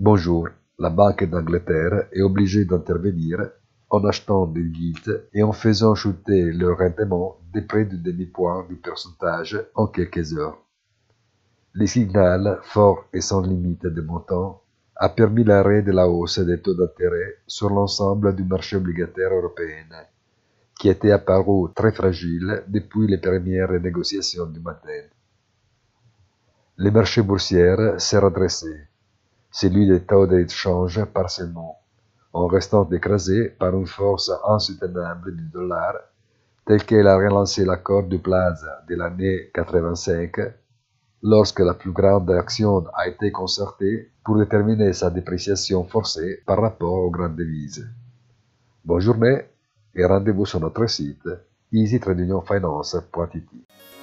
Bonjour, la Banque d'Angleterre est obligée d'intervenir en achetant des gilts et en faisant chuter le rendement de près du demi-point du pourcentage en quelques heures. Le signal, fort et sans limite de montant, a permis l'arrêt de la hausse des taux d'intérêt sur l'ensemble du marché obligataire européen, qui était apparu très fragile depuis les premières négociations du matin. Le marché boursier s'est redressé, celui des taux d'échange partiellement, en restant écrasé par une force insoutenable du dollar, telle qu'elle a relancé l'accord du Plaza de l'année 85, lorsque la plus grande action a été concertée pour déterminer sa dépréciation forcée par rapport aux grandes devises. Bonne journée et rendez-vous sur notre site easytradingfinance.it.